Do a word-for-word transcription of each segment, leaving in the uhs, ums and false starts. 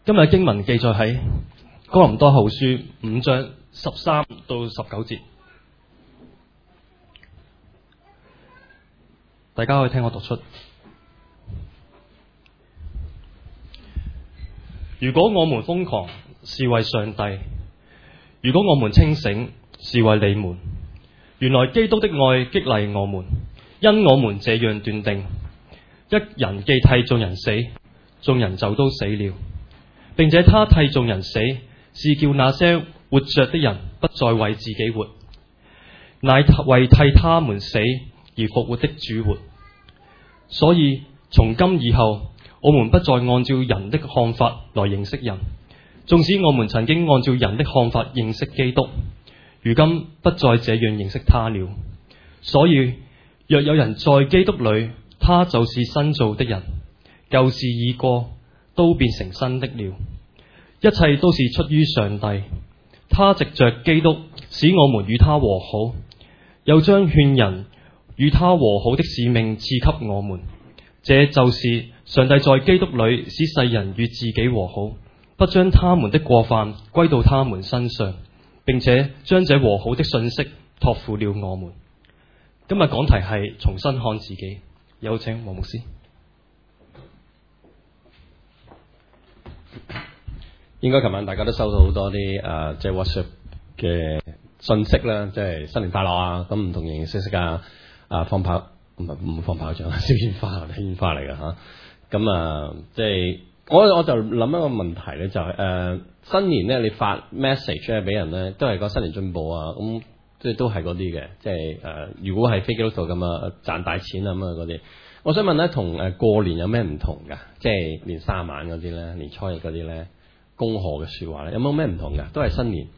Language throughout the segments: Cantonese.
今日經文記載喺哥林多後書五章十三到十九節，大家可以聽我讀出。如果我們瘋狂，是為上帝；如果我們清醒，是為你們。原來基督的愛激勵我們，因我們這樣斷定：一人既替眾人死，眾人就都死了，並且他替眾人死，是叫那些活着的人不再為自己活，乃為替他們死而復活的主活。所以從今以後，我們不再按照人的看法來認識人，縱使我們曾經按照人的看法認識基督，如今不再這樣認識他了。所以若有人在基督裏，他就是新造的人，舊事已過，都變成新的了。一切都是出於上帝，他藉着基督使我們與他和好，又將勸人與他和好的使命賜給我們。這就是上帝在基督裏使世人與自己和好，不將他們的過犯歸到他們身上，並且將這和好的信息託付了我們。今日講題係重新看自己，有請黃牧師。 應該琴晚大家都收到好多啲誒，即係 WhatsApp 嘅信息啦，即係新年快樂啊！咁唔同形形色色啊，啊放炮唔係唔放炮仗，燒煙花係煙花嚟㗎嚇。咁啊，即係我我就諗一個問題咧，就係、是、誒、呃、新年咧，你發 message 咧俾人咧，都係講新年進步啊，咁即係都係嗰啲嘅，即係誒、呃、如果係非基督徒咁啊賺大錢啊咁啊嗰啲。我想問咧，同誒過年有咩唔同㗎？即係年卅晚嗰啲咧，年初一嗰啲咧。恭賀嘅說話咧，有冇咩唔同㗎？都係新年。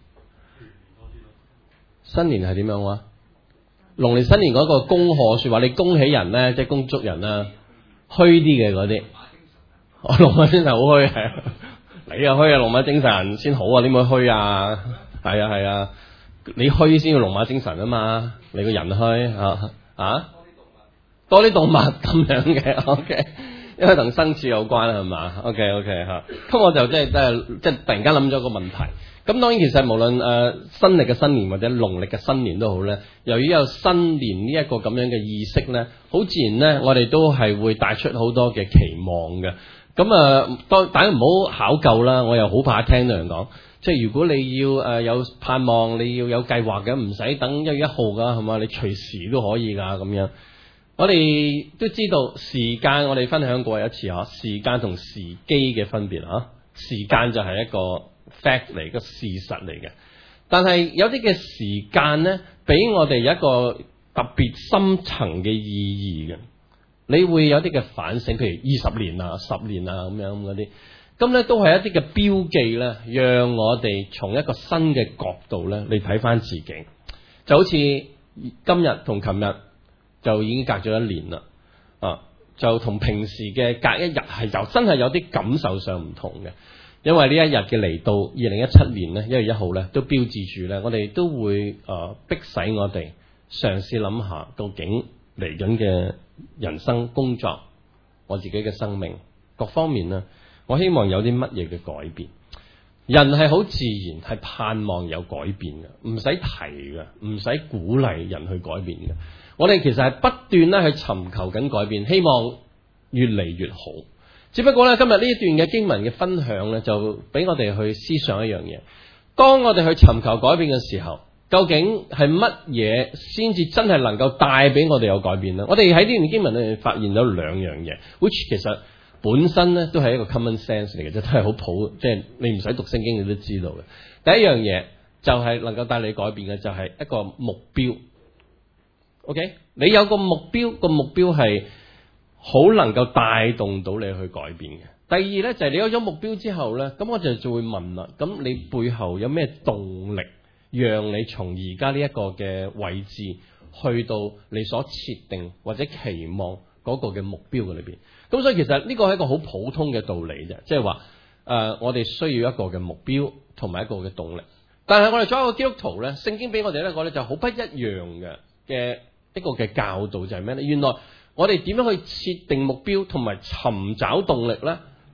新年係點樣啊？農曆新年嗰個恭賀說話，你恭喜人咧，即係恭祝人啦，虛啲嘅嗰啲。我龍馬精神好虛係啊，你啊虛啊，龍馬精神先好啊，點會虛啊？係啊係啊，你虛先要龍馬精神啊嘛，你個人虛啊啊？多啲動物咁樣嘅 ，OK。因為同生肖有關啦，係嘛 ？OK OK 嚇，咁我就即係即係即係突然間諗咗個問題。咁當然其實無論誒、呃、新歷嘅新年或者農曆嘅新年都好咧，由於有新年呢一個咁樣嘅意識咧，好自然咧，我哋都係會帶出好多嘅期望嘅。咁啊，當大家唔好考究啦，我又好怕聽到人講，即係如果你要誒、呃、有盼望，你要有計劃嘅，唔使等一月一號㗎，係嘛？你隨時都可以㗎咁樣。我哋都知道時間，我哋分享過一次嗬，時間同時機嘅分別嗬。時間就係一個 fact 嚟，個事實嚟嘅。但係有啲嘅時間咧，俾我哋有一個特別深層嘅意義嘅。你會有啲嘅反省，譬如二十年啊、十年啊咁樣嗰啲，咁咧都係一啲嘅標記咧，讓我哋從一個新嘅角度咧，你睇翻自己，就好似今日同琴日。就已經隔咗一年啦，啊，就同平時嘅隔一日係有真係有啲感受上唔同嘅，因為呢一日嘅嚟到二零一七年咧一月一號咧，都標誌住咧，我哋都會誒、呃、逼使我哋嘗試諗下，究竟嚟緊嘅人生、工作、我自己嘅生命各方面咧，我希望有啲乜嘢嘅改變。人係好自然係盼望有改變嘅，唔使提嘅，唔使鼓勵人去改變嘅。我哋其實係不斷咧去尋求緊改變，希望越嚟越好。只不過咧，今日呢一段嘅經文嘅分享咧，就俾我哋去思想一樣嘢。當我哋去尋求改變嘅時候，究竟係乜嘢先至真係能夠帶俾我哋有改變呢？我哋喺呢段經文裏發現咗兩樣嘢 ，which 其實本身咧都係一個 common sense 嚟嘅，即係都係好普，即係你唔使讀聖經你都知道嘅。第一樣嘢就係能夠帶你改變嘅，就係一個目標。OK，你有個目標，個目標係好能夠帶動到你去改變嘅。第二呢，就係你有咗目標之後呢，咁我就就會問啦，咁你背後有咩動力，讓你從而家呢一個嘅位置去到你所設定或者期望嗰個嘅目標嘅裏邊？咁所以其實呢個係一個好普通嘅道理啫，即係話誒，我哋需要一個嘅目標同埋一個嘅動力。但係我哋作為一個基督徒呢，聖經俾我哋呢個呢就好不一樣嘅嘅。一個嘅教導就係咩呢？原來我哋點樣去設定目標同埋尋找動力呢？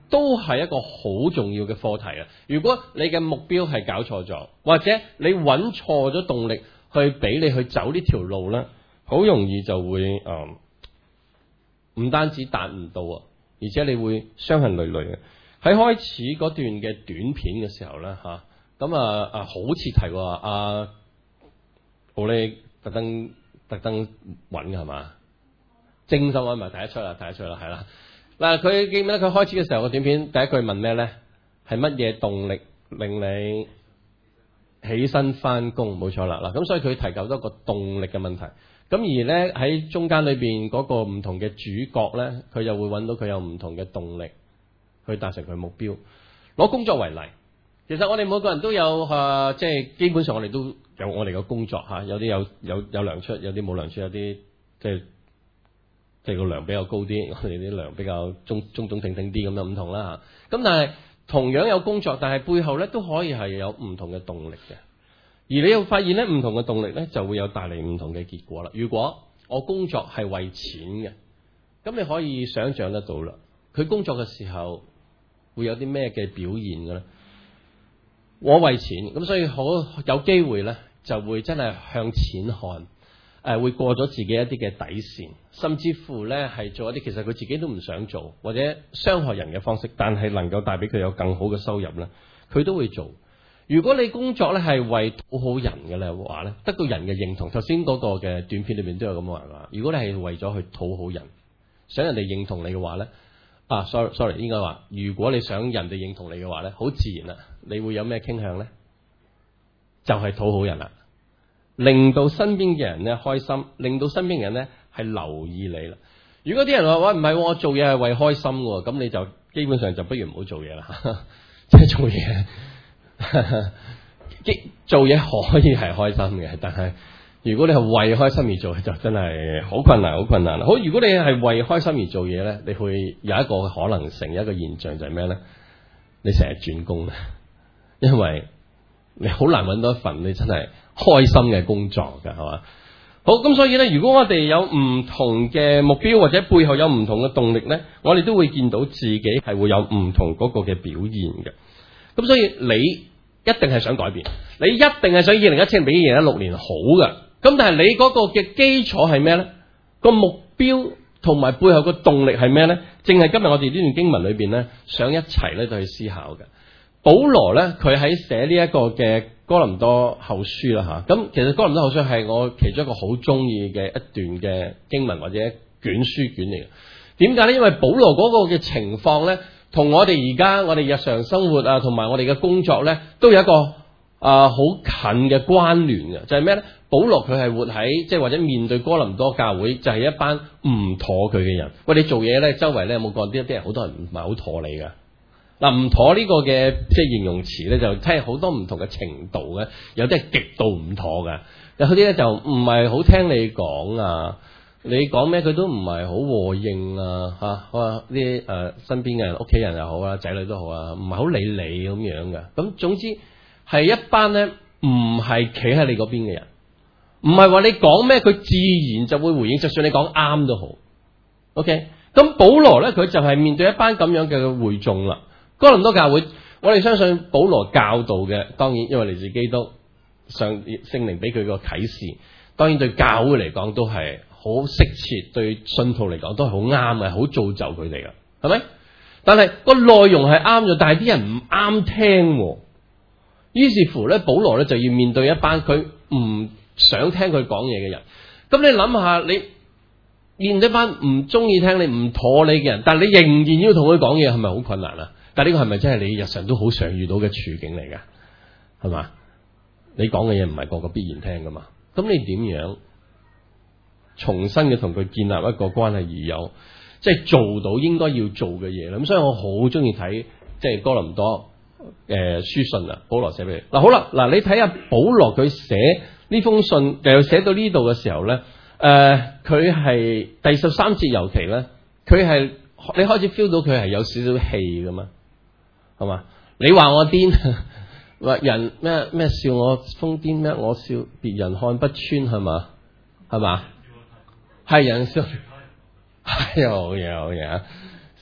都係一個好重要嘅課題啊！如果你嘅目標係搞錯咗，或者你揾錯咗動力去俾你去走呢條路咧，好容易就會誒唔、嗯、單止達唔到啊，而且你會傷痕累累嘅。喺開始嗰段嘅短片嘅時候咧嚇，咁啊啊好似提過啊，我哋特登特登揾嘅係嘛？精心揾埋睇得出啦，睇得出啦，係啦。嗱，佢記唔記得佢開始嘅時候個短片第一句問咩咧？係乜嘢動力令你起身翻工？冇錯啦。嗱，咁所以佢提及咗一個動力嘅問題。咁而咧喺中間裏邊嗰個唔同嘅主角咧，佢又會揾到佢有唔同嘅動力去達成佢目標。攞工作為例，其實我哋每個人都有啊，即係基本上我哋都有我哋嘅工作嚇，有啲有有有糧出，有啲冇糧出，有啲即係。即係個糧比較高啲，我哋啲糧比較中中中挺挺啲咁樣唔同啦嚇。咁但係同樣有工作，但係背後咧都可以係有唔同嘅動力嘅。而你又發現咧，唔同嘅動力咧就會有帶嚟唔同嘅結果啦。如果我工作係為錢嘅，咁你可以想像得到啦。佢工作嘅時候會有啲咩嘅表現嘅咧？我為錢，咁所以好有機會咧就會真係向錢看。誒會過咗自己一啲嘅底線，甚至乎咧係做一啲其實佢自己都唔想做或者傷害人嘅方式，但係能夠帶俾佢有更好嘅收入咧，佢都會做。如果你工作咧係為討好人嘅咧話咧，得到人嘅認同，頭先嗰個嘅短片裏面都有咁話啦。如果你係為咗去討好人，想人哋認同你嘅話咧，啊 sorry sorry 應該話，如果你想人哋認同你嘅話咧，好自然啦，你會有咩傾向咧？就係討好人啦。令到身邊嘅人咧開心，令到身邊嘅人咧係留意你啦。如果啲人話喂唔係，我做嘢係為開心嘅，咁你就基本上就不如唔好做嘢啦。即係做嘢，做嘢可以係開心嘅，但係如果你係為開心而做，就真係好困難，好困難。好，如果你係為開心而做嘢咧，你會有一個可能性，有一個現象就係咩咧？你成日轉工咧，因為你好難揾到一份你真係開心嘅工作㗎，係嘛？好，咁所以咧，如果我哋有唔同嘅目標或者背後有唔同嘅動力咧，我哋都會見到自己係會有唔同嗰個嘅表現嘅。咁所以你一定係想改變，你一定係想二零一七年比二零一六年好嘅。咁但係你嗰個嘅基礎係咩咧？個目標同埋背後個動力係咩咧？正係今日我哋呢段經文裏邊咧，想一齊咧就去思考嘅。保羅咧，佢喺寫呢一個嘅哥林多後書啦吓，咁其實哥林多後書係我其中一個好中意嘅一段嘅經文或者卷書卷嚟嘅。點解咧？因為保羅嗰個嘅情況咧，同我哋而家我哋日常生活啊，同埋我哋嘅工作咧，都有一個啊好、呃、近嘅關聯嘅。就係咩咧？保羅佢係活喺即係或者面對哥林多教會，就係、是、一班唔妥佢嘅人。喂，你做嘢咧，周圍咧有冇講啲一啲人好多人唔係好妥你㗎？嗱，唔妥呢個嘅即係形容詞咧，就聽好多唔同嘅程度嘅，有啲係極度唔妥嘅，有啲咧就唔係好聽你講啊，你講咩佢都唔係好和應啊，嚇、啊，哇！啲誒身邊嘅人、屋企人又好啊，仔女都好啊，唔係好理你咁樣嘅。咁總之係一班咧唔係企喺你嗰邊嘅人，唔係話你講咩佢自然就會回應，就算你講啱都好。OK，咁保羅咧佢就係面對一班咁樣嘅會眾啦。哥林多教會，我哋相信保羅教導嘅，當然因為嚟自基督上聖靈俾佢個啟示，當然對教會嚟講都係好適切，對信徒嚟講都係好啱嘅，好造就佢哋嘅，係咪？但係個內容係啱咗，但係啲人唔啱聽，於是乎咧，保羅咧就要面對一班佢唔想聽佢講嘢嘅人。咁你諗下，你面對一班唔中意聽你、唔妥你嘅人，但係你仍然要同佢講嘢，係咪好困難啊？但係呢個係咪真係你日常都好常遇到嘅處境嚟㗎？係嘛？你講嘅嘢唔係個個必然聽㗎嘛？咁你點樣重新嘅同佢建立一個關係，而有即係做到應該要做嘅嘢咧？咁所以我好中意睇即係哥林多誒、呃、書信啊，保羅寫俾你嗱。好啦，嗱你睇下保羅佢寫呢封信，又寫到呢度嘅時候咧，誒佢係第十三節尤其咧，佢係你開始 feel 到佢係有少少氣㗎嘛？係嘛？你話我癲，話人咩咩笑我瘋癲咩？我笑別人看不穿，係嘛？係嘛？係人笑，係好嘢好嘢啊！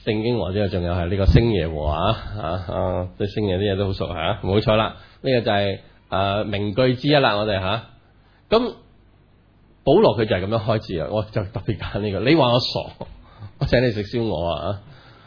聖經和之後，仲有係呢個星爺和啊啊啊，對星爺啲嘢都好熟嚇，冇錯啦。呢、這個就係、是、誒、呃、名句之一啦，我哋嚇。咁、啊、保羅佢就係咁樣開始啊，我就特別揀呢、這個。你話我傻，我請你食燒鵝啊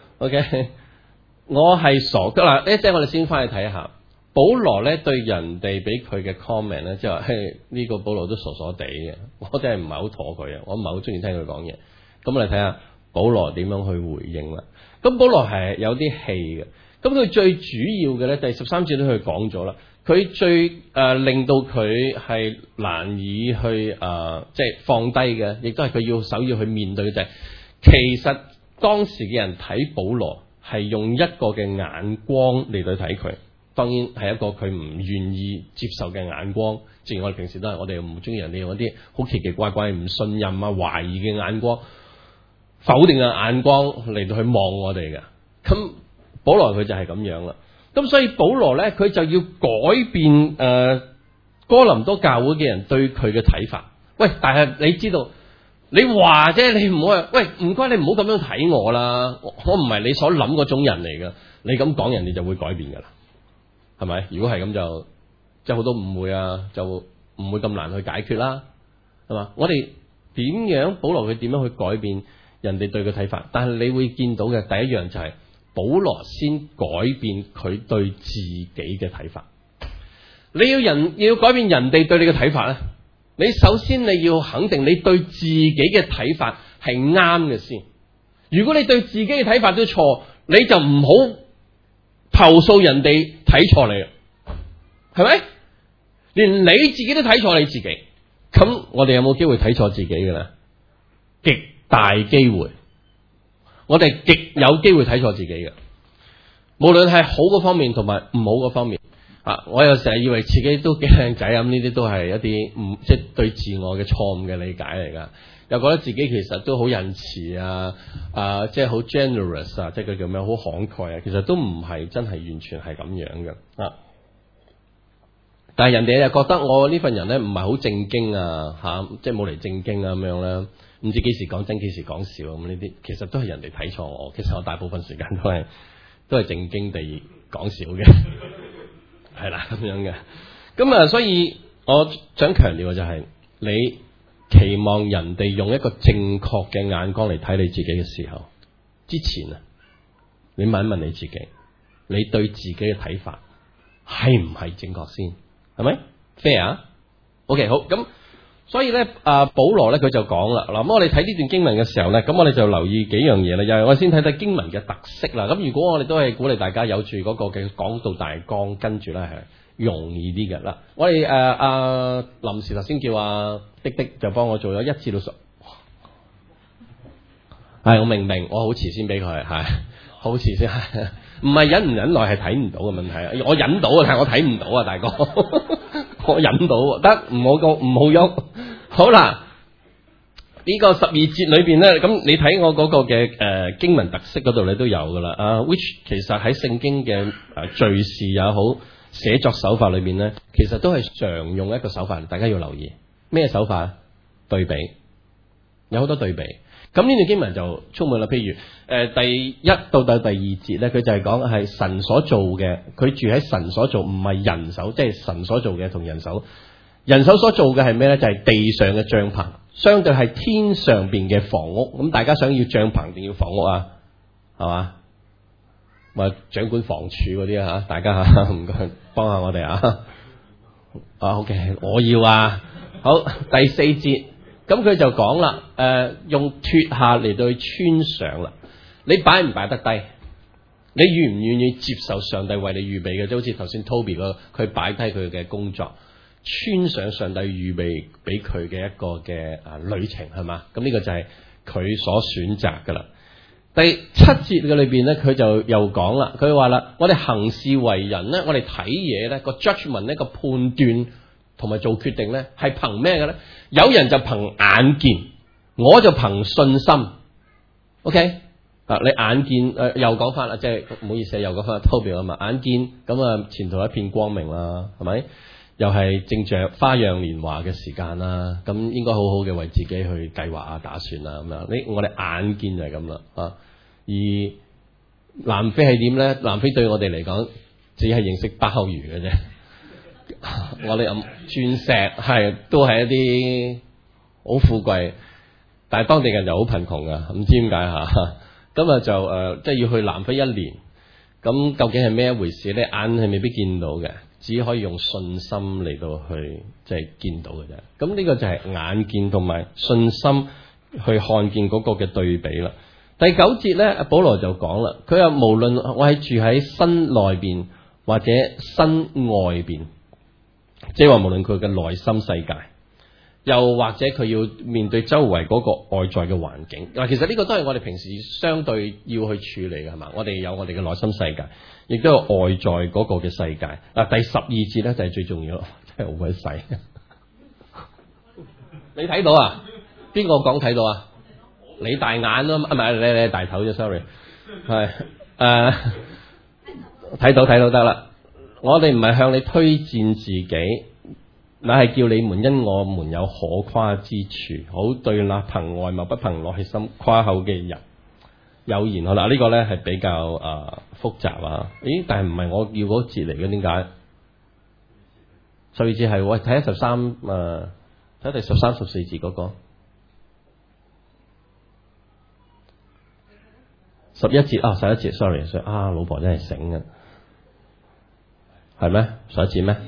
！OK，我係傻㗎啦。呢即係我哋先翻去睇下。保羅咧對人哋俾佢嘅 comment 咧，即係話嘿呢個保羅都傻傻地嘅，我真係唔係好妥佢啊，我唔係好中意聽佢講嘢。咁我哋睇下保羅點樣去回應啦。咁保羅係有啲氣嘅，咁佢最主要嘅咧，第十三節都佢講咗啦。佢最誒、呃、令到佢係難以去誒、呃、即係放低嘅，亦都係佢要首要去面對嘅就係、是，其實當時嘅人睇保羅係用一個嘅眼光嚟到睇佢。當然係一個佢唔願意接受嘅眼光，正如我哋平時都係，我哋唔中意人哋用一啲好奇奇怪怪、唔信任啊、懷疑嘅眼光、否定嘅眼光嚟到去望我哋嘅。咁保羅佢就係咁樣啦。咁所以保羅咧，佢就要改變誒、呃、哥林多教會嘅人對佢嘅睇法。喂，但係你知道，你話啫，你唔好話，喂，唔該你唔好咁樣睇我啦，我唔係你所諗嗰種人嚟噶。你咁講，人哋就會改變噶啦。係咪？如果係咁就即係好多誤會啊，就唔會咁難去解決啦，係嘛？我哋點樣保羅佢點樣去改變人哋對佢睇法？但係你會見到嘅第一樣就係、是、保羅先改變佢對自己嘅睇法。你要人要改變人哋對你嘅睇法咧，你首先你要肯定你對自己嘅睇法係啱嘅先。如果你對自己嘅睇法都錯，你就唔好投訴人哋睇錯你，係咪？連你自己都睇錯你自己，咁我哋有冇機會睇錯自己嘅咧？極大機會，我哋極有機會睇錯自己嘅。無論係好嗰方面同埋唔好嗰方面啊！我又成日以為自己都幾靚仔咁，呢啲都係一啲唔即係對自我嘅錯誤嘅理解嚟噶。又覺得自己其實都好仁慈啊，啊，即係好 generous 啊，即係佢叫咩？好慷慨啊，其實都唔係真係完全係咁樣嘅啊。但係人哋又覺得我呢份人咧唔係好正經啊，吓、啊，即係冇嚟正經啊咁樣咧，唔知幾時講真幾時講笑咁呢啲，其實都係人哋睇錯我。其實我大部分時間都係都係正經地講笑嘅，係啦咁樣嘅。咁啊，所以我想強調嘅就係、是、你。期望人哋用一個正確嘅眼光嚟睇你自己嘅時候，之前啊，你問一問你自己，你對自己嘅睇法係唔係正確先？係咪 fair 啊 ？OK 好，咁所以咧，啊保羅咧佢就講啦，嗱咁我哋睇呢段經文嘅時候咧，咁我哋就留意幾樣嘢啦，又係我先睇睇經文嘅特色啦。咁如果我哋都係鼓勵大家有住嗰個嘅講道大綱，跟住咧係容易啲嘅啦。我哋誒阿臨時頭先叫阿滴滴就幫我做咗一至到十，係我明明我好遲先俾佢，係好遲先，唔係忍唔忍耐係睇唔到嘅問題啊！我忍到啊，但係我睇唔到啊，大哥，我忍到得唔好個唔好喐。好啦，呢、這個十二節裏邊咧，咁你睇我嗰個嘅誒、呃、經文特色嗰度你都有噶啦啊 ，which 其實喺聖經嘅誒敘事也好，寫作手法裏面咧，其實都係常用一個手法，大家要留意咩手法？對比，有好多對比。咁呢段經文就充滿啦。譬如誒、呃、第一到到第二節咧，佢就係講係神所做嘅，佢住喺神所做，唔係人手，即係神所做嘅同人手。人手所做嘅係咩咧？就係、是、地上嘅帳篷，相對係天上邊嘅房屋。咁大家想要帳篷定要房屋啊？係嘛？咪掌管房署嗰啲啊，大家吓唔該幫下我哋啊！啊 OK， 我要啊。好，第四節，咁佢就講啦，誒、呃，用脫下嚟到去穿上啦。你擺唔擺得低？你願唔願意接受上帝為你預備嘅？即好似頭先 Toby 個，佢擺低佢嘅工作，穿上上帝預備俾佢嘅一個嘅啊旅程，係嘛？咁呢個就係佢所選擇噶啦。第七節嘅裏邊咧，佢就又講啦，佢話啦，我哋行事為人咧，我哋睇嘢咧，個 judgment 呢個判斷同埋做決定咧，係憑咩嘅咧？有人就憑眼見，我就憑信心。OK 啊，你眼見誒、呃，又講翻啦，即係唔好意思，又講翻 Toby 啊嘛，眼見咁啊，前途一片光明啦，係咪？又係正着花樣年華嘅時間啦，咁應該好好嘅為自己去計劃啊、打算啊咁樣。呢我哋眼見就係咁啦啊，而南非係點咧？南非對我哋嚟講，只係認識鮑魚嘅啫。我哋咁鑽石係都係一啲好富貴，但係當地人就好貧窮噶，唔知點解吓。咁啊就誒、呃，即係要去南非一年，咁究竟係咩一回事咧？眼係未必見到嘅，只可以用信心嚟到去即係見到嘅啫。咁呢個就係眼見同埋信心去看見嗰個嘅對比啦。第九節咧，保羅就講啦，佢話無論我係住喺身內邊或者身外邊，即係話無論佢嘅內心世界，又或者佢要面對周圍嗰個外在嘅環境。嗱，其實呢個都係我哋平時相對要去處理嘅，係嘛？我哋有我哋嘅內心世界，亦都有外在嗰個嘅世界。嗱，第十二節咧就係最重要，真係好鬼細。你睇到啊？邊個講睇到啊？你大眼咯，唔係你你大頭啫 ，sorry， 係誒睇到睇到得啦。我哋唔係向你推薦自己，乃係叫你們因我們有可誇之處，好對那憑外貌不憑內心誇口嘅人有言。好啦，呢、這個咧係比較誒、呃、複雜啊。咦？但係唔係我要嗰節嚟嘅，點解？十二節係喂，睇下十三誒，睇第十三十四節嗰、那個。十一節啊，十一節 ，sorry， 所以啊，老婆真係醒嘅，係咩？十一節咩？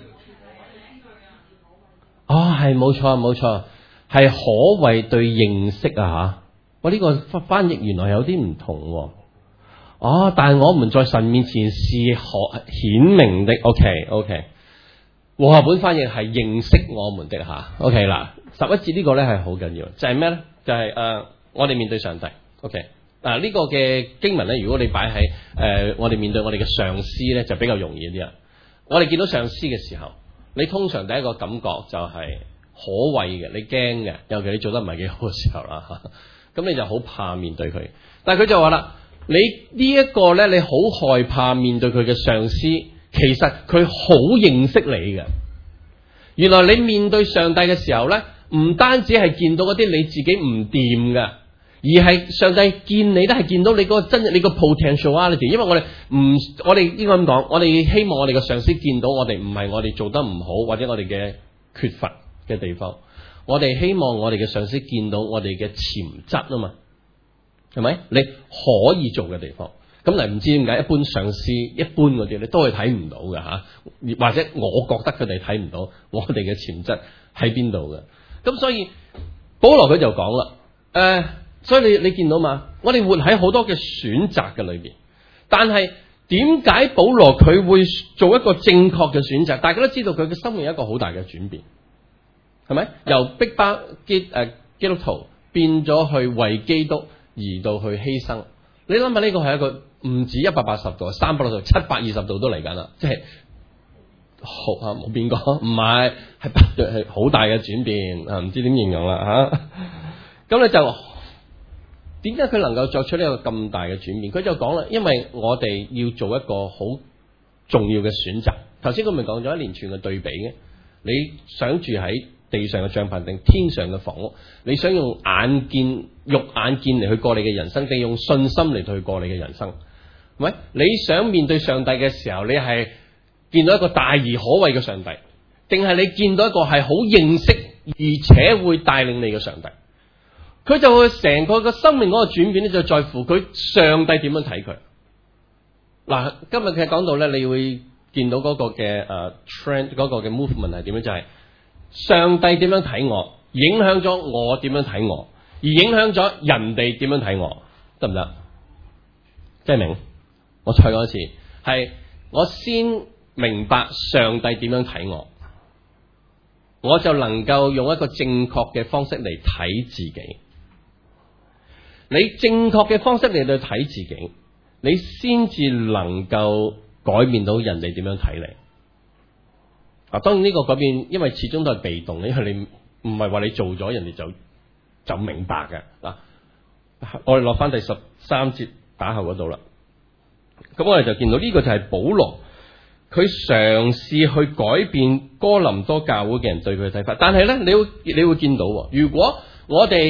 哦，係冇錯冇錯，係可謂對認識啊吓。我呢個翻譯原來有啲唔同、啊。哦，但係我們在神面前是可顯明的。OK OK， 和合本翻譯係認識我們的吓。OK 嗱，十一節呢個咧係好緊要，就係咩咧？就係、是、誒、呃，我哋面對上帝。OK。嗱，呢個嘅經文咧，如果你擺喺誒我哋面對我哋嘅上司咧，就比較容易啲啊。我哋見到上司嘅時候，你通常第一個感覺就係可畏嘅，你驚嘅，尤其你做得唔係幾好嘅時候啦，咁你就好怕面對佢。但係佢就話啦，你呢一個咧，你好害怕面對佢嘅上司，其實佢好認識你嘅。原來你面對上帝嘅時候咧，唔單止係見到嗰啲你自己唔掂嘅。而係上帝見你都係見到你嗰個真，你個 potentiality。因為我哋唔，我哋應該咁講，我哋希望我哋嘅上司見到我哋唔係我哋做得唔好或者我哋嘅缺乏嘅地方。我哋希望我哋嘅上司見到我哋嘅潛質啊嘛，係咪？你可以做嘅地方。咁嚟唔知點解一般上司一般嗰啲咧都係睇唔到嘅吓，或者我覺得佢哋睇唔到我哋嘅潛質喺邊度嘅。咁所以保羅佢就講啦，誒、呃。所以你你見到嘛？我哋活喺好多嘅選擇嘅裏邊，但係點解保羅佢會做一個正確嘅選擇？大家都知道佢嘅生命有一個好大嘅轉變，係咪？由逼迫基誒基督徒變咗去為基督而到去犧牲。你諗下呢個係一個唔止一百八十度、三百六十度、七百二十度都嚟緊啦，即係好啊冇變過，唔係係不斷係好大嘅轉變啊！唔知點形容啦吓，咁咧就。點解佢能夠作出呢個咁大嘅轉變？佢就講啦，因為我哋要做一個好重要嘅選擇。頭先佢咪講咗一連串嘅對比嘅。你想住喺地上嘅帳篷定天上嘅房屋？你想用眼見、肉眼見嚟去過你嘅人生，定用信心嚟去過你嘅人生？係咪？你想面對上帝嘅時候，你係見到一個大而可畏嘅上帝，定係你見到一個係好認識而且會帶領你嘅上帝？佢就會成個個生命嗰個轉變咧，就在乎佢上帝點樣睇佢。嗱，今日佢講到咧，你會見到嗰個嘅誒 trend，嗰個嘅 movement 係點樣？就係、是、上帝點樣睇我，影響咗我點樣睇我，而影響咗人哋點樣睇我，得唔得？即係明？我再講一次，係我先明白上帝點樣睇我，我就能夠用一個正確嘅方式嚟睇自己。你正確嘅方式嚟到睇自己，你先至能夠改變到人哋點樣睇你。啊，當然呢個改變，因為始終都係被動，因為你唔係話你做咗，人哋就就明白嘅。嗱，我哋落翻第十三節打後嗰度啦。咁我哋就見到呢個就係保羅，佢嘗試去改變哥林多教會嘅人對佢嘅睇法。但係咧，你會你會見到，如果我哋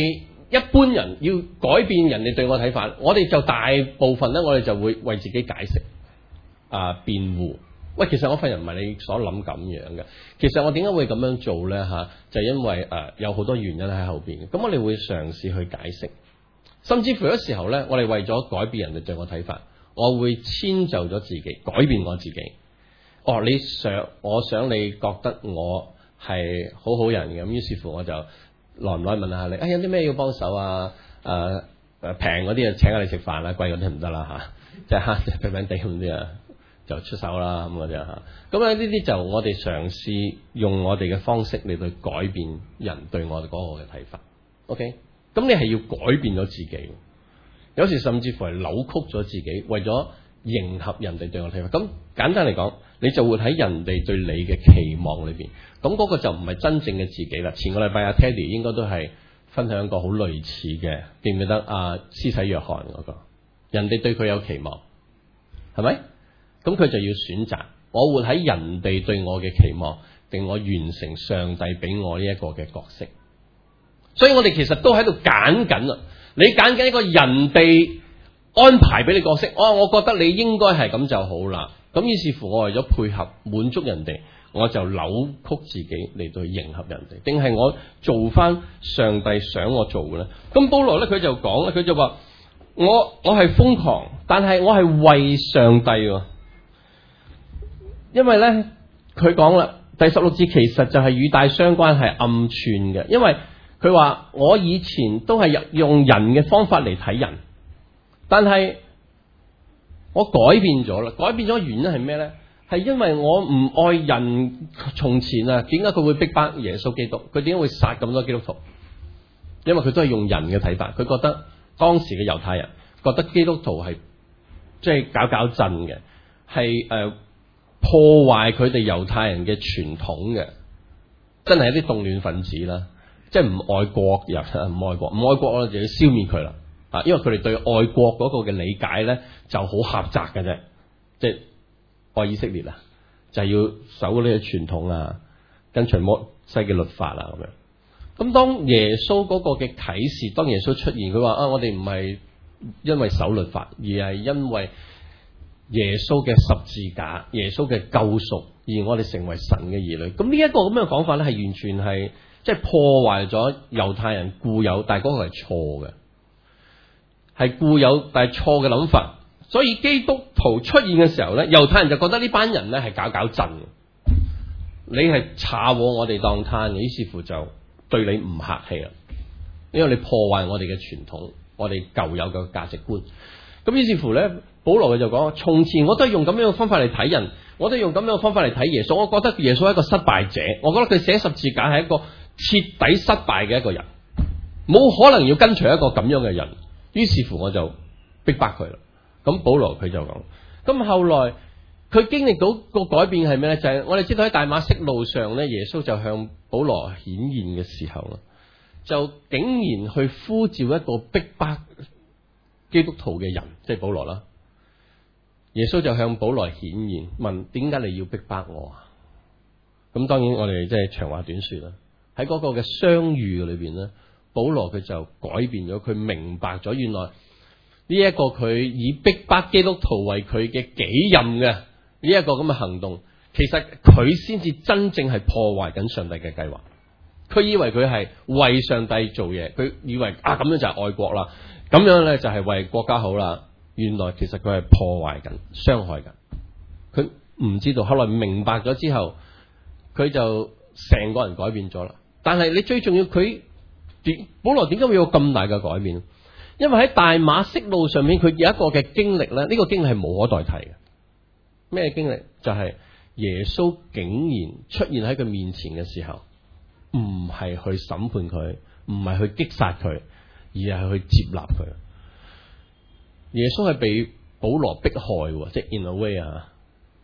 一般人要改變人哋對我睇法，我哋就大部分咧，我哋就會為自己解釋啊辯護。喂，其實我份人唔係你所諗咁樣嘅。其實我點解會咁樣做咧？吓、啊，就係、因為誒、呃、有好多原因喺後邊。咁我哋會嘗試去解釋，甚至乎有時候咧，我哋為咗改變人哋對我睇法，我會遷就咗自己，改變我自己。哦，你想，我想你覺得我係好好人嘅，咁於是乎我就耐唔耐問下你，哎，有啲咩要幫手啊？誒誒平嗰啲啊，請下你食飯啦，貴嗰啲唔得啦嚇，即係慳平平地咁啲啊，就出手啦咁嗰啲嚇。咁啊呢啲就我哋嘗試用我哋嘅方式嚟去改變人對我哋嗰個嘅睇法。OK，咁你係要改變咗自己，有時甚至乎係扭曲咗自己，為咗迎合人哋對我睇法。咁簡單嚟講，你就會喺人哋對你嘅期望裏邊，咁嗰個就唔係真正嘅自己啦。前個禮拜阿 Teddy 應該都係分享一個好類似嘅，記唔記得啊？施洗約翰嗰個，人哋對佢有期望，係咪？咁佢就要選擇，我活喺人哋對我嘅期望，定我完成上帝俾我呢一個嘅角色。所以我哋其實都喺度揀緊啊！你揀緊一個人哋安排俾你角色，哦，我覺得你應該係咁就好啦。咁於是乎，我為咗配合滿足人哋，我就扭曲自己嚟到去迎合人哋，定係我做翻上帝想我做嘅咧？咁保羅咧，佢就講咧，佢就話我我係瘋狂，但係我係為上帝。因為咧，佢講啦，第十六節其實就係語帶相關，係暗串嘅。因為佢話我以前都係用人嘅方法嚟睇人，但係我改變咗啦，改變咗原因係咩呢？係因為我唔愛人。從前啊，點解佢會逼迫耶穌基督？佢點解會殺咁多基督徒？因為佢都係用人嘅睇法，佢覺得當時嘅猶太人覺得基督徒係即係搞搞震嘅，係誒、呃、破壞佢哋猶太人嘅傳統嘅，真係一啲動亂分子啦，即係唔愛國人，唔愛國，唔愛國我就要消滅佢啦。啊，因為佢哋對愛國嗰個嘅理解咧就好狹窄嘅啫，即係愛以色列啊，就係、是、要守呢個傳統啊，跟隨摩西嘅律法啊咁樣。咁當耶穌嗰個嘅啟示，當耶穌出現，佢話啊，我哋唔係因為守律法，而係因為耶穌嘅十字架、耶穌嘅救贖，而我哋成為神嘅兒女。咁呢一個咁樣嘅講法咧，係完全係即係破壞咗猶太人固有，但係嗰個係錯嘅。係固有但係錯嘅諗法，所以基督徒出現嘅時候咧，猶太人就覺得呢班人咧係搞搞震，你係查我我哋當攤，於是乎就對你唔客氣啦，因為你破壞我哋嘅傳統，我哋舊有嘅價值觀。咁於是乎咧，保羅佢就講：從前我都係用咁樣嘅方法嚟睇人，我都係用咁樣嘅方法嚟睇耶穌。我覺得耶穌係一個失敗者，我覺得佢寫十字架係一個徹底失敗嘅一個人，冇可能要跟隨一個咁樣嘅人。於是乎我就逼迫佢啦。咁保羅佢就講，咁後來佢經歷到個改變係咩咧？就係、是、我哋知道喺大馬色路上咧，耶穌就向保羅顯現嘅時候啊，就竟然去呼召一個逼迫基督徒嘅人，即係保羅啦。耶穌就向保羅顯現，問點解你要逼迫我啊？咁當然我哋即係長話短說啦。喺嗰個嘅相遇裏邊咧，保羅佢就改變咗，佢明白咗原來呢一個佢以逼迫基督徒為佢嘅己任嘅呢一個咁嘅行動，其實佢先至真正係破壞緊上帝嘅計劃。佢以為佢係為上帝做嘢，佢以為啊咁樣就係愛國啦，咁樣咧就係為國家好啦。原來其實佢係破壞緊、傷害緊。佢唔知道，後來明白咗之後，佢就成個人改變咗啦。但係你最重要，佢保羅點解會有咁大嘅改變？因為喺大馬色路上面，佢有一個嘅經歷咧，呢個經歷係無可代替嘅。咩經歷？就係耶穌竟然出現喺佢面前嘅時候，唔係去審判佢，唔係去擊殺佢，而係去接納佢。耶穌係被保羅迫害，即係 in a way 啊，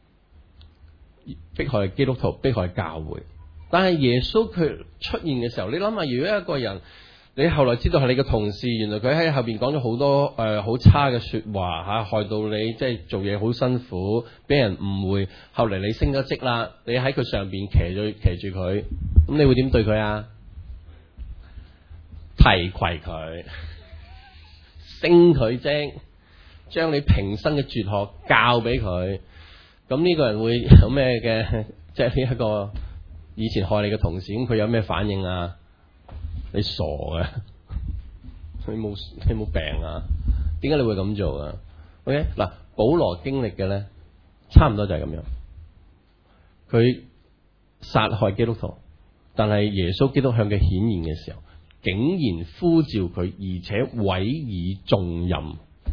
迫害基督徒，迫害教會。但係耶穌佢出現嘅時候，你諗下，如果一個人你後來知道係你嘅同事，原來佢喺後邊講咗好多誒好、呃、差嘅說話吓，害到你即係做嘢好辛苦，俾人誤會，後嚟你升咗職啦，你喺佢上邊騎住騎住佢，咁你會點對佢啊？ 提攜佢，升佢職，將你平生嘅哲學教俾佢。咁呢個人會有咩嘅？即係呢一個以前害你嘅同事，咁佢有咩反應啊？你傻嘅，你冇你冇病啊？點解你會咁做啊 ？OK 嗱，保羅經歷嘅咧，差唔多就係咁樣。佢殺害基督徒，但係耶穌基督向佢顯現嘅時候，竟然呼召佢，而且委以重任。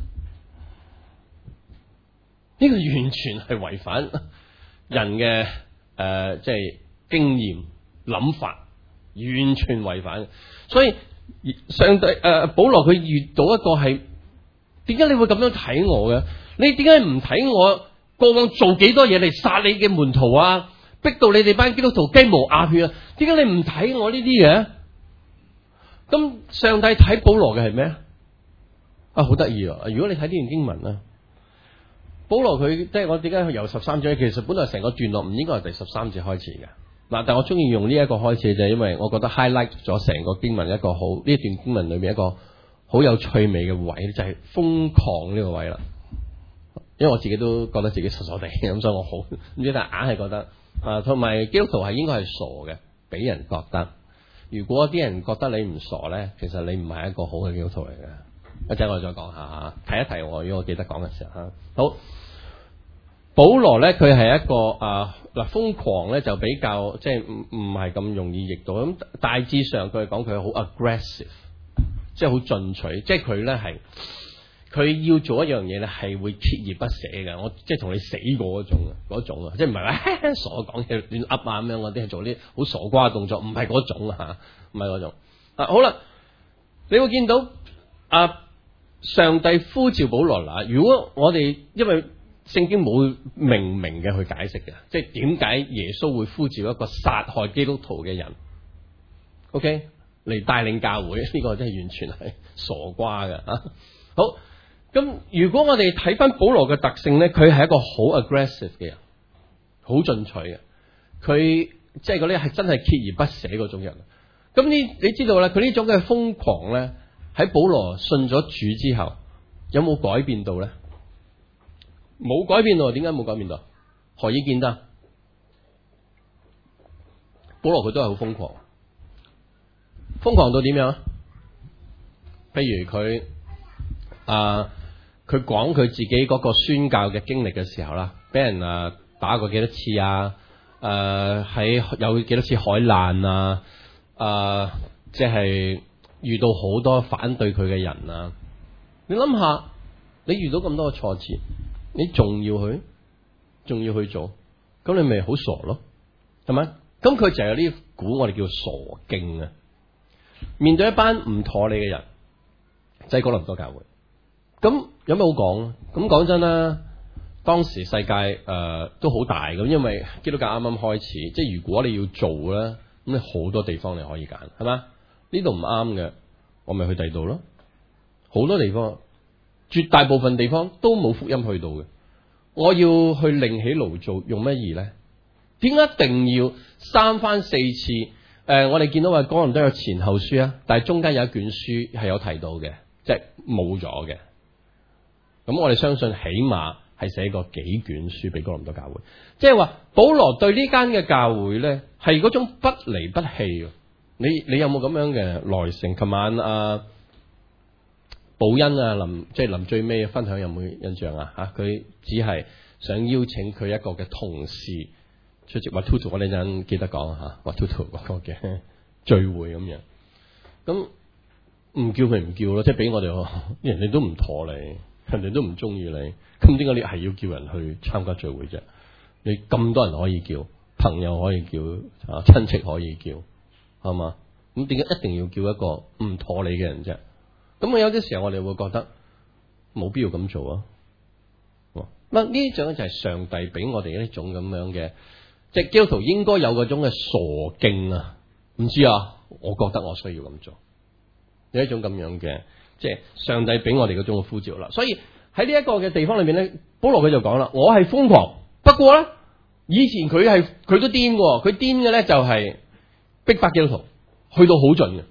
呢個完全係違反人嘅誒、呃，即係經驗諗法，完全違反。所以上帝誒、呃，保羅佢遇到一個係，點解你會咁樣睇我嘅？你點解唔睇我過往做幾多嘢嚟殺你嘅門徒啊？逼到你哋班基督徒雞毛鴨血啊？點解你唔睇我呢啲嘅？咁上帝睇保羅嘅係咩啊？好得意啊！如果你睇呢段經文咧。保羅佢即係我點解由十三章，其實本來成個段落唔應該係第十三節開始嘅嗱，但我中意用呢一個開始就係因為我覺得 highlight 咗成個經文一個好呢一段經文裏面一個好有趣味嘅位，就係、是、瘋狂呢個位啦。因為我自己都覺得自己傻傻地咁，所以我好唔知，但係硬係覺得啊，同埋基督徒係應該係傻嘅，俾人覺得。如果啲人覺得你唔傻咧，其實你唔係一個好嘅基督徒嚟嘅。一陣我再講下吓，提一提我，如果我記得講嘅時候吓。好，保羅咧佢係一個啊嗱瘋狂咧就比較即係唔唔係咁容易譯到，咁大致上佢係講佢好 aggressive， 即係好進取，即係佢咧係佢要做一樣嘢咧係會鍥而不捨嘅，我即係同你死過嗰種嗰種啊，即係唔係話傻講嘢亂噏啊咁樣，嗰啲係做啲好傻瓜嘅動作，唔係嗰種啊，唔係嗰種啊。好啦，你會見到啊。上帝呼召保羅啦，如果我哋因為聖經冇明明嘅去解釋嘅，即係點解耶穌會呼召一個殺害基督徒嘅人 ，OK 嚟帶領教會，呢、這個真係完全係傻瓜嘅啊！好，咁如果我哋睇翻保羅嘅特性咧，佢係一個好 aggressive 嘅人，好進取嘅，佢即係嗰啲係真係鍥而不捨嗰種人。咁呢，你知道啦，佢呢種嘅瘋狂咧。喺保羅信咗主之後，有冇改變到咧？冇改變到，點解冇改變到？何以見得？保羅佢都係好瘋狂，瘋狂到點樣？譬如佢啊，佢講佢自己嗰個宣教嘅經歷嘅時候啦，俾人啊打過幾多次啊？誒、啊，喺有幾多次海難啊？誒、啊，即係。遇到好多反對佢嘅人啊！你諗下，你遇到咁多嘅挫折，你仲要去，仲要去做，咁你咪好傻咯，係咪？咁佢就有呢股我哋叫傻勁啊！面對一班唔妥你嘅人，即係哥林多教會，咁有咩好講？咁講真啦，當時世界誒、呃、都好大咁，因為基督教啱啱開始，即係如果你要做咧，咁你好多地方你可以揀，係嘛？呢度唔啱嘅，我咪去第二度咯。好多地方，絕大部分地方都冇福音去到嘅。我要去另起爐灶，用乜嘢咧？點解一定要三番四次？誒、呃，我哋見到話哥林多有前後書啊，但係中間有一卷書係有提到嘅，即係冇咗嘅。咁我哋相信起碼係寫過幾卷書俾哥林多教會，即係話保羅對呢間嘅教會咧係嗰種不離不棄。你你有冇咁樣嘅耐性？琴晚啊，寶恩啊，臨即係臨最尾分享有冇印象啊？吓，佢只係想邀請佢一個嘅同事出席，話 Tutu 我呢陣記得講吓，話 Tutu 嗰個嘅聚會咁樣。咁唔叫佢唔叫咯，即係俾我哋，人哋都唔妥你，人哋都唔中意你，咁點解你係要叫人去參加聚會啫？你咁多人可以叫，朋友可以叫，啊，親戚可以叫。係嘛？咁點解一定要叫一個唔妥你嘅人啫？咁啊有啲時候我哋會覺得冇必要咁做啊。咁呢種就係上帝俾我哋一種咁樣嘅，即係基督徒應該有嗰種嘅傻勁啊！唔知啊，我覺得我需要咁做，有一種咁樣嘅，即係上帝俾我哋嗰種嘅呼召啦。所以喺呢一個嘅地方裏面咧，保羅佢就講啦：我係瘋狂，不過咧以前佢係佢都癲嘅，佢癲嘅咧就係、是。逼迫基督徒去到好盡嘅，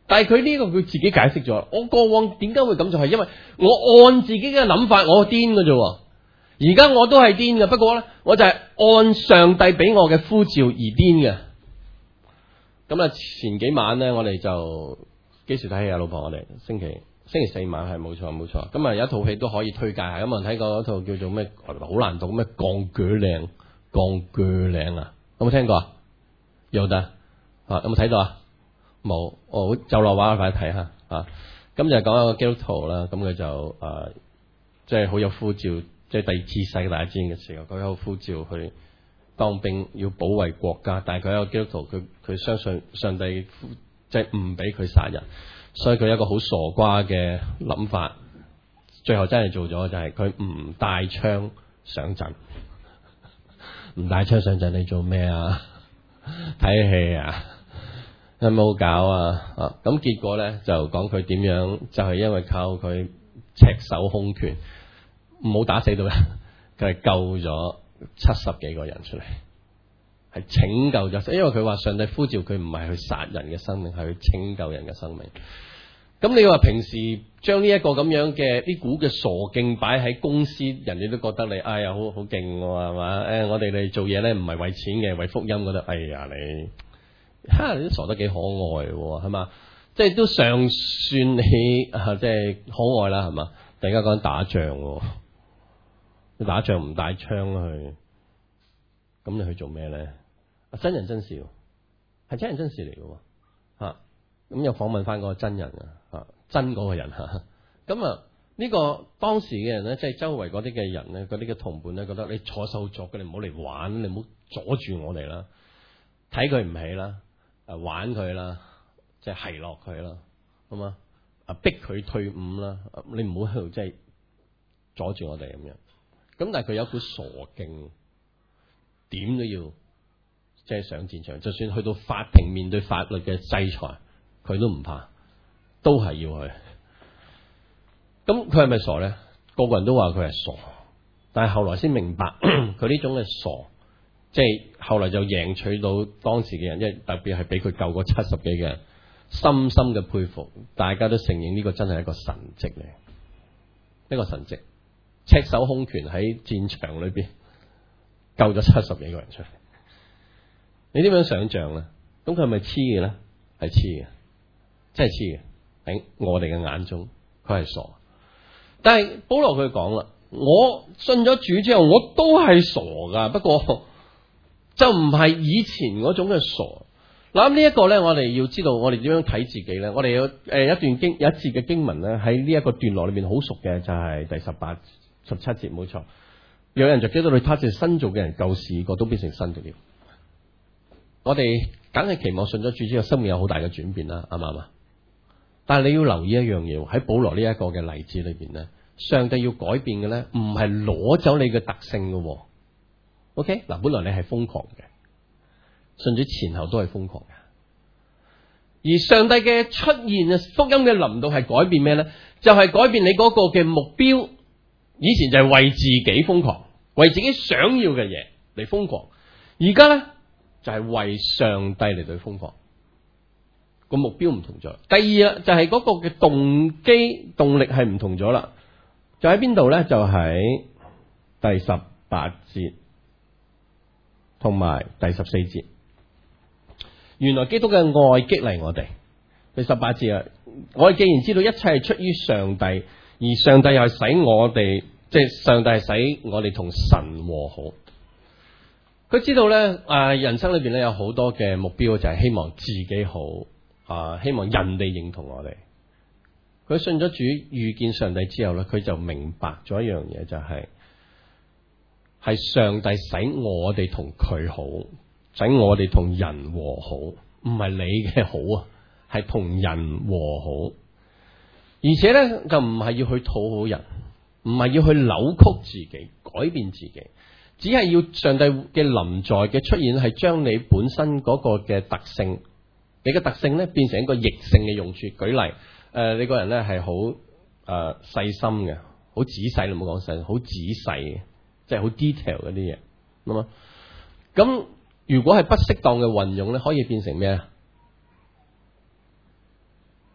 但係佢呢個佢自己解釋咗，我過往點解會咁做，係因為我按自己嘅諗法，我癲㗎啫。而家我都係癲嘅，不過咧，我就係按上帝俾我嘅呼召而癲嘅。咁啊，前幾晚咧，我哋就幾時睇戲啊？老婆，我哋星期星期四晚係冇錯冇錯。咁啊，有一套戲都可以推介下。咁啊，睇過嗰套叫做咩？好難讀咩？鋼鋸嶺，鋼鋸嶺啊！有冇聽過啊？有得啊？有冇睇到啊？冇。哦，就落畫快睇下啊！咁就講一個基督徒啦。咁佢就誒，即係好有呼召。即係第二次世界大戰嘅時候，佢有呼召去當兵，要保衛國家。但係佢係一個基督徒，佢佢相信上帝，即係唔俾佢殺人，所以佢有一個好傻瓜嘅諗法。最後真係做咗，就係佢唔帶槍上陣。唔帶槍上陣，你做咩啊？睇戲啊？有冇搞啊？啊！咁結果咧就講佢點樣，就係、是、因為靠佢赤手空拳。唔好打死到人，佢係救咗七十幾個人出嚟，係拯救咗。因為佢話上帝呼召佢唔係去殺人嘅生命，係去拯救人嘅生命。咁你話平時將呢一個咁樣嘅呢股嘅傻勁擺喺公司，人哋都覺得你哎呀好好勁係嘛？誒、哎，我哋嚟做嘢咧唔係為錢嘅，為福音覺得哎呀你，哈你都傻得幾可愛係嘛？即係都尚算你啊，即係可愛啦係嘛？突然間講打仗。你打仗唔帶槍去，咁你去做咩咧？真人真事，係真人真事嚟嘅，吓咁又訪問翻嗰個真人啊，吓真嗰個人吓，咁啊呢個當時嘅人咧，即係周圍嗰啲嘅人咧，嗰啲嘅同伴咧，覺得你坐手作嘅，你唔好嚟玩，你唔好阻住我哋啦，睇佢唔起啦，誒玩佢啦，即係奚落佢啦，好嘛？啊逼佢退伍啦，你唔好喺度即係阻住我哋咁樣。咁但係佢有股傻勁，點都要即係上戰場，就算去到法庭面對法律嘅制裁，佢都唔怕，都係要去。咁佢係咪傻咧？個個人都話佢係傻，但係後來先明白佢呢種嘅傻，即係後來就贏取到當時嘅人，因為特別係俾佢救過七十幾個人，深深嘅佩服，大家都承認呢個真係一個神蹟嚟，一個神蹟。赤手空拳喺戰場裏邊救咗七十幾個人出嚟，你點樣想象咧？咁佢係咪黐嘅咧？係黐嘅，真係黐嘅。喺我哋嘅眼中，佢係傻。但係保羅佢講啦，我信咗主之後，我都係傻噶，不過就唔係以前嗰種嘅傻。嗱，呢一個咧，我哋要知道，我哋點樣睇自己咧？我哋有誒一段經有一節嘅經文咧，喺呢一個段落裏邊好熟嘅，就係第十八。十七節冇錯，有人就基督裏，他是新造嘅人，舊事過都變成新的了。我哋梗係期望信咗主之後，生命有好大嘅轉變啦，啱唔啱啊？但係你要留意一樣嘢，喺保羅呢一個嘅例子裏邊咧，上帝要改變嘅咧，唔係攞走你嘅特性嘅。OK，嗱，本來你係瘋狂嘅，信主前後都係瘋狂嘅，而上帝嘅出現啊，福音嘅臨到係改變咩咧？就係、是、改變你嗰個嘅目標。以前就係為自己瘋狂，為自己想要嘅嘢嚟瘋狂。而家咧就係、是、為上帝嚟對瘋狂，個目標唔同咗。第二啊，就係嗰個嘅動機動力係唔同咗啦。就喺邊度咧？就喺第十八節同埋第十四節。原來基督嘅愛激勵我哋。第十八節啊，我哋既然知道一切係出於上帝。而上帝又係使我哋，即係上帝係使我哋同神和好。佢知道咧，誒、呃，人生裏邊咧有好多嘅目標，就係希望自己好，啊、呃，希望人哋認同我哋。佢信咗主，遇見上帝之後咧，佢就明白咗一樣嘢，就係、是、係上帝使我哋同佢好，使我哋同人和好，唔係你嘅好啊，係同人和好。而且咧就唔係要去討好人，唔係要去扭曲自己、改變自己，只係要上帝嘅臨在嘅出現，係將你本身嗰個嘅特性，你嘅特性咧變成一個逆性嘅用處。舉例，誒、呃，你個人咧係好誒細心嘅，好仔細，你唔好講細，好仔細嘅，即係好 detail 嗰啲嘢。咁啊，咁如果係不適當嘅運用咧，可以變成咩啊？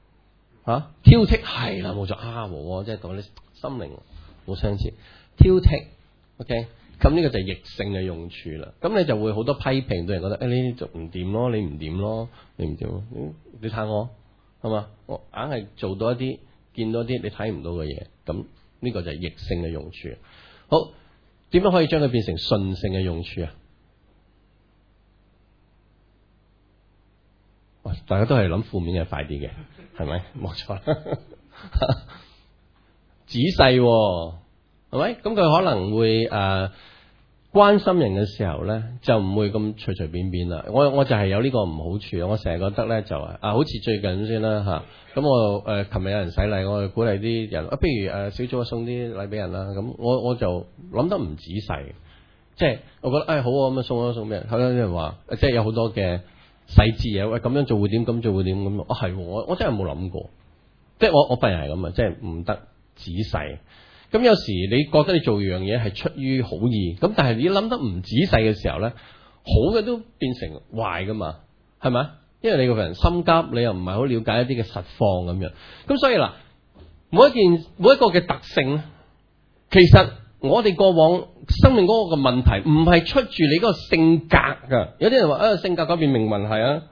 啊，挑剔係啦，冇錯啊，和即係同你心靈好相似。挑剔 ，OK，咁呢個就係逆性嘅用處啦。咁你就會好多批評，對人覺得誒呢啲就唔掂咯，你唔掂咯，你唔掂咯，你睇我係嘛？我硬係做到一啲見到一啲你睇唔到嘅嘢，咁呢個就係逆性嘅用處。好，點樣可以將佢變成順性嘅用處啊？大家都係諗負面嘅快啲嘅，係咪？冇錯，仔細係咪？咁佢可能會誒、呃、關心人嘅時候咧，就唔會咁隨隨便便啦。我我就係有呢個唔好處，我成日覺得咧就啊，好似最近先啦吓，咁我誒琴日有人洗禮，我就鼓勵啲人啊，不如誒小組送啲禮俾人啦。咁我我就諗得唔仔細，即係我覺得誒、哎、好啊，咁啊送啊送俾人。後有啲人話，即係有好多嘅細節嘢，喂咁樣做會點，咁做會點咁。啊係，我我真係冇諗過，即係我我份人係咁啊，即係唔得仔細。咁有時你覺得你做樣嘢係出於好意，咁但係你諗得唔仔細嘅時候咧，好嘅都變成壞噶嘛，係咪？因為你個人心急，你又唔係好了解一啲嘅實況咁樣。咁所以嗱，每一件每一個嘅特性咧，其實我哋過往生命嗰個嘅問題唔係出住你嗰個性格噶。有啲人話啊，性格改變命運係啊，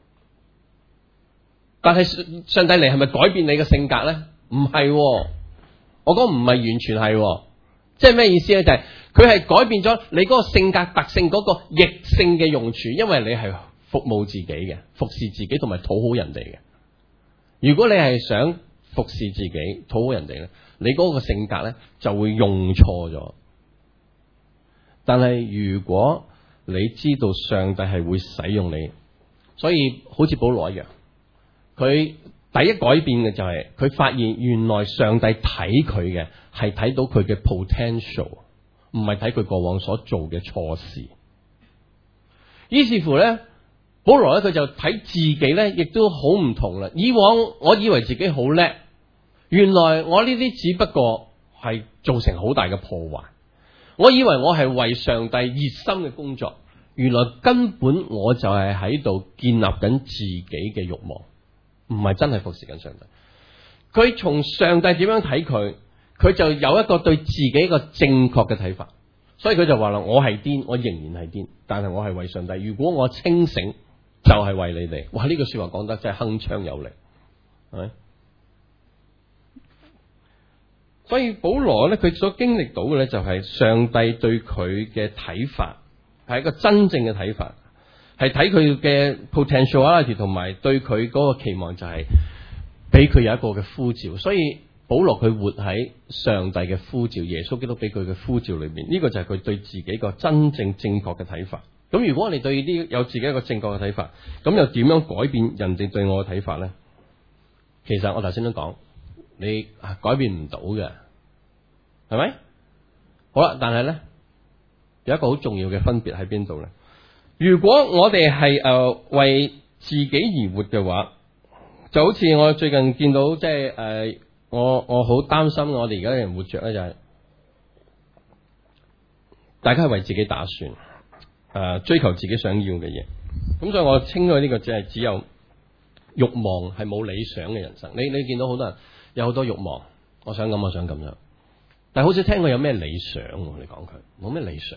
但係上帝嚟係咪改變你嘅性格咧？唔係喎。我講唔係完全係，即係咩意思咧？就係佢係改變咗你嗰個性格特性嗰個逆性嘅用處，因為你係服務自己嘅，服侍自己同埋討好人哋嘅。如果你係想服侍自己、討好人哋咧，你嗰個性格咧就會用錯咗。但係如果你知道上帝係會使用你，所以好似保羅一樣，佢。第一改變嘅就係佢發現原來上帝睇佢嘅係睇到佢嘅 potential， 唔係睇佢過往所做嘅錯事。於是乎咧，保羅咧佢就睇自己咧，亦都好唔同啦。以往我以為自己好叻，原來我呢啲只不過係造成好大嘅破壞。我以為我係為上帝熱心嘅工作，原來根本我就係喺度建立緊自己嘅慾望。唔係真係服侍緊上帝，佢從上帝點樣睇佢，佢就有一個對自己一個正確嘅睇法，所以佢就話啦：我係癲，我仍然係癲，但係我係為上帝。如果我清醒，就係為你哋。哇！呢句說話講得真係鏗鏘有力，係咪？所以保羅咧，佢所經歷到嘅咧，就係上帝對佢嘅睇法，係一個真正嘅睇法。係睇佢嘅 potentiality 同埋對佢嗰個期望，就係俾佢有一個嘅呼召。所以保羅佢活喺上帝嘅呼召，耶穌基督俾佢嘅呼召裏邊，呢個就係佢對自己個真正正確嘅睇法。咁如果我哋對呢有自己一個正確嘅睇法，咁又點樣改變人哋對我嘅睇法咧？其實我頭先都講，你改變唔到嘅，係咪？好啦，但係咧有一個好重要嘅分別喺邊度咧？如果我哋係誒為自己而活嘅話，就好似我最近見到，即係誒我我好擔心我哋而家嘅人活着咧，就係大家係為自己打算，誒、呃、追求自己想要嘅嘢。咁所以我稱佢呢個只係只有慾望，係冇理想嘅人生。你你見到好多人有好多慾望，我想咁，我想咁樣，但係好少聽過有咩理想。你講佢冇咩理想。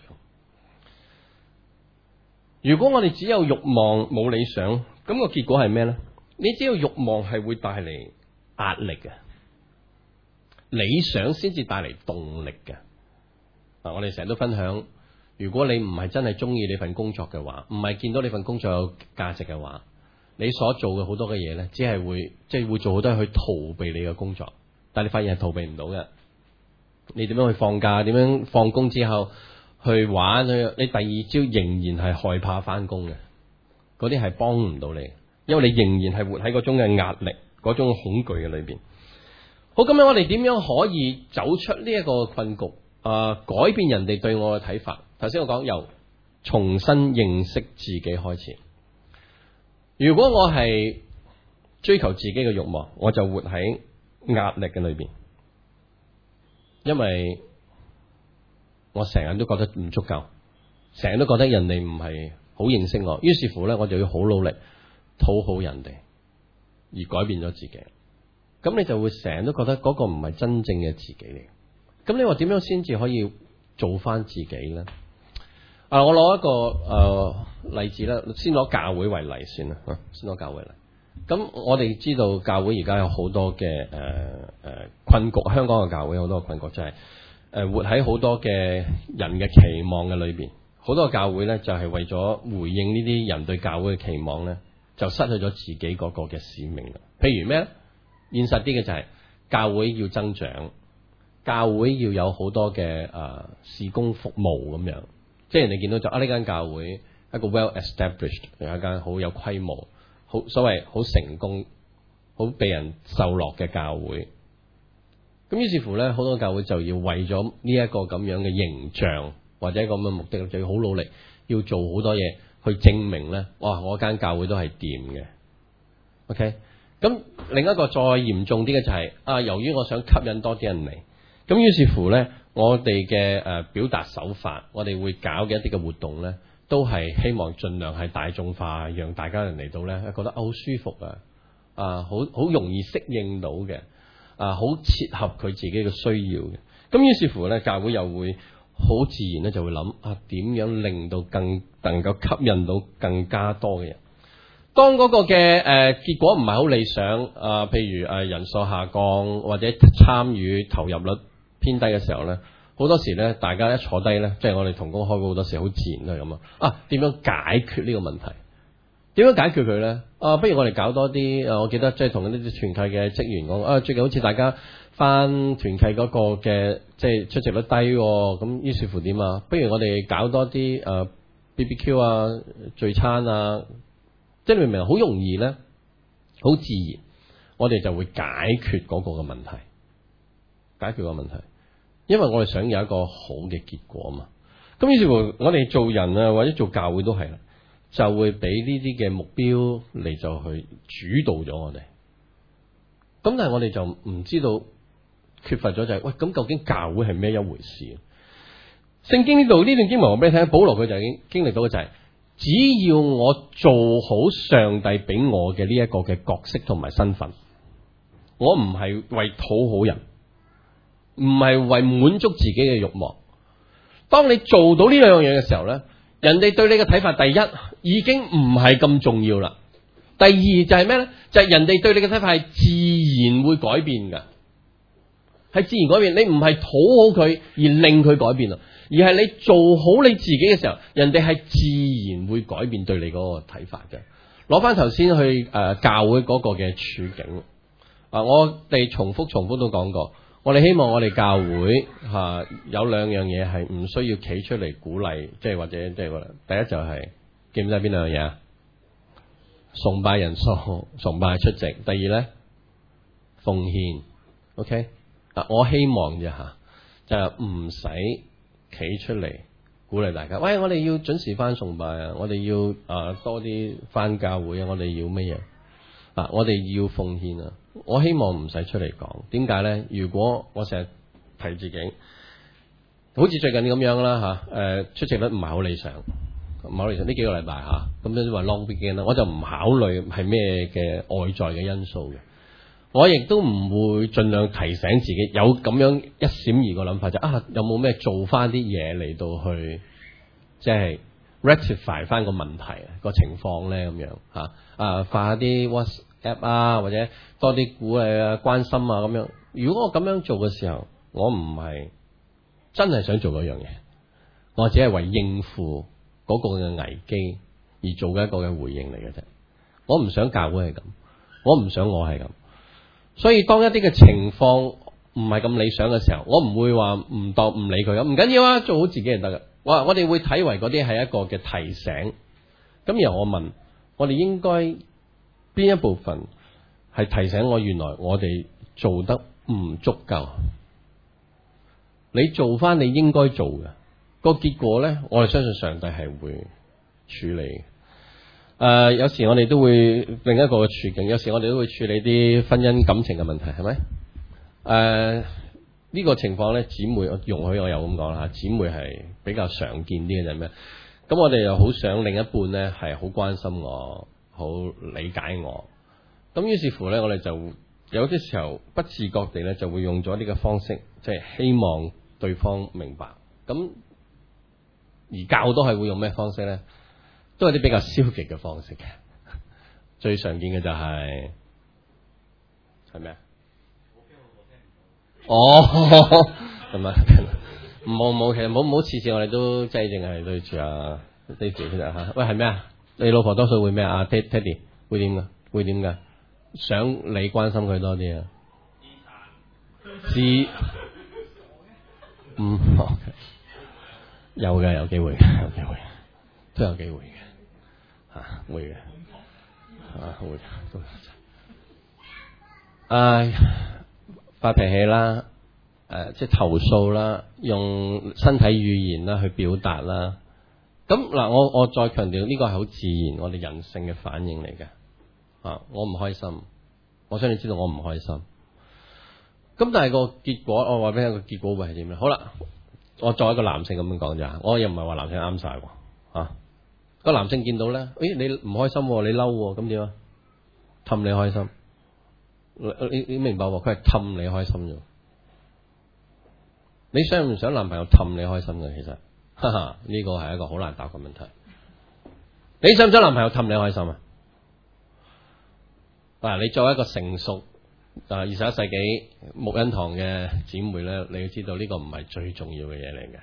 如果我哋只有慾望冇理想，咁個結果係咩咧？你只有慾望係會帶嚟壓力嘅，理想先至帶嚟動力嘅。嗱，我哋成日都分享，如果你唔係真係中意你份工作嘅話，唔係見到你份工作有價值嘅話，你所做嘅好多嘅嘢咧，只係會即係會做好多去逃避你嘅工作，但係你發現係逃避唔到嘅。你點樣去放假？點樣放工之後去玩？去你第二朝仍然係害怕翻工嘅，嗰啲係幫唔到你，因為你仍然係活喺嗰種嘅壓力、嗰種恐懼嘅裏邊。好，咁樣我哋點樣可以走出呢一個困局？啊、呃，改變人哋對我嘅睇法。頭先我講由重新認識自己開始。如果我係追求自己嘅慾望，我就活喺壓力嘅裏邊，因為我成日都覺得唔足夠，成日都覺得人哋唔係好認識我，於是乎咧，我就要好努力討好人哋，而改變咗自己。 咁你就會成日都覺得嗰個唔係真正嘅自己嚟。咁你話點樣先至可以做翻自己咧？啊，我攞一個誒、呃、例子啦，先攞教會為例先啦，先攞教會嚟。咁我哋知道教會而家有好多嘅誒誒困局，香港嘅教會好多嘅困局，就係、是、誒、呃、活喺好多嘅人嘅期望嘅裏邊。好多教會咧就係、是、為咗回應呢啲人對教會嘅期望咧，就失去咗自己嗰個嘅使命啦。譬如咩咧？現實啲嘅就係、是、教會要增長，教會要有好多嘅誒、呃、事工服務咁樣。即係人哋見到就啊呢間教會一個 well established， 有一間好有規模。好所謂好成功、好被人受落嘅教會，咁於是乎咧，好多教會就要為咗呢一個咁樣嘅形象或者咁嘅目的，就要好努力，要做好多嘢去證明咧，哇！我間教會都係掂嘅。OK，咁另一個再嚴重啲嘅就係、是、啊，由於我想吸引多啲人嚟，咁於是乎咧，我哋嘅誒表達手法，我哋會搞嘅一啲嘅活動咧。都係希望盡量係大眾化，讓大家人嚟到咧，覺得好舒服啊，啊，好好容易適應到嘅，啊，好切合佢自己嘅需要嘅。咁於是乎咧，教會又會好自然咧就會諗啊，點樣令到更能夠吸引到更加多嘅人。當嗰個嘅誒、呃、結果唔係好理想啊，譬如誒、呃、人數下降或者參與投入率偏低嘅時候咧。好多時咧，大家一坐低咧，即係我哋同工開會好多時，好自然都係咁啊！啊，點樣解決呢個問題？點樣解決佢咧？啊，不如我哋搞多啲誒，我記得即係同呢啲團契嘅職員講啊，最近好似大家返團契嗰個嘅即係出席率低，咁於是乎點啊？不如我哋搞多啲誒 B B Q 啊、聚餐啊，即係你明唔明？好容易咧，好自然，我哋就會解決嗰個嘅問題，解決個問題。因為我哋想有一個好嘅結果嘛，咁於是乎我哋做人啊或者做教會都係啦，就會俾呢啲嘅目標嚟就去主導咗我哋。咁但係我哋就唔知道缺乏咗就係、是、喂，咁究竟教會係咩一回事？聖經呢度呢段經文我俾你聽，保羅佢就已經經歷到嘅就係、是，只要我做好上帝俾我嘅呢一個嘅角色同埋身份，我唔係為討好人。唔係為滿足自己嘅慾望。當你做到呢兩樣嘢嘅時候咧，人哋對你嘅睇法，第一已經唔係咁重要啦。第二就係咩咧？就係、是、人哋對你嘅睇法係自然會改變㗎，係自然改變。你唔係討好佢而令佢改變啊，而係你做好你自己嘅時候，人哋係自然會改變對你嗰個睇法嘅。攞翻頭先去誒、呃、教會嗰個嘅處境啊、呃，我哋重複重複都講過。我哋希望我哋教會吓、啊、有兩樣嘢係唔需要企出嚟鼓勵，即係或者即係第一就係、是、記唔記得邊兩樣嘢啊？崇拜人數、崇拜出席。第二咧，奉獻。OK 啊，我希望啫吓，就係唔使企出嚟鼓勵大家。喂，我哋要準時翻崇拜啊！我哋要啊多啲翻教會啊！我哋要乜嘢啊？我哋要奉獻啊！我希望唔使出嚟講，點解咧？如果我成日提自己，好似最近咁樣啦吓，誒、啊、出席率唔係好理想，唔係好理想呢幾個禮拜吓，咁樣話 long weekend 啦，我就唔考慮係咩嘅外在嘅因素嘅，我亦都唔會盡量提醒自己有咁樣一閃而過諗法，就啊有冇咩做翻啲嘢嚟到去即係 rectify 翻個問題個情況咧咁樣吓啊，發下啲 WhatsApp 啊，或者多啲鼓勵啊、關心啊咁樣。如果我咁樣做嘅時候，我唔係真係想做嗰樣嘢，我只係為應付嗰個嘅危機而做嘅一個嘅回應嚟嘅啫。我唔想教會係咁，我唔想我係咁。所以當一啲嘅情況唔係咁理想嘅時候，我唔會話唔當唔理佢咁，唔緊要啊，做好自己就得噶。我我哋會睇為嗰啲係一個嘅提醒。咁然後我問，我哋應該邊一部分係提醒我原來我哋做得唔足夠？你做翻你應該做嘅個結果咧，我哋相信上帝係會處理。誒、呃，有時我哋都會另一個嘅處境，有時我哋都會處理啲婚姻感情嘅問題，係咪？誒、呃，呢、這個情況咧，姊妹容許我又咁講啦，姊妹係比較常見啲嘅就係咩？咁我哋又好想另一半咧係好關心我，好理解我。咁於是乎咧，我哋就有啲時候不自覺地咧就會用咗呢個方式，即係希望對方明白。咁而教都係會用咩方式咧？都係啲比較消極嘅方式嘅。最常見嘅就係係咩啊？哦，係咪？冇冇，其實冇冇次次我哋都即係淨係對住啊 Daisy 其實嚇。喂，係咩啊？你老婆多數會咩啊 ？Teddy 會點噶？會點噶？想你關心佢多啲啊？知嗯，有嘅，有機會嘅，有機會，都有機會嘅，嚇會嘅，嚇會都有。唉，發脾氣啦，誒、呃，即係投訴啦，用身體語言啦去表達啦。咁嗱，我我再強調呢個係好自然，我哋人性嘅反應嚟嘅。啊，我唔開心，我想你知道我唔開心。咁但係個結果，我話俾你個結果會係點咧？好啦，我作為一個男性咁樣講咋，我又唔係話男性啱晒喎。啊，個男性見到咧，誒，你唔開心，你嬲，咁點啊？氹你開心，你你明白喎？佢係氹你開心啫。你想唔想男朋友氹你開心嘅？其實，哈哈，呢個係一個好難答嘅問題。你想唔想男朋友氹你開心啊？嗱，你作為一個成熟啊二十一世紀牧恩堂嘅姊妹咧，你要知道呢個唔係最重要嘅嘢嚟嘅，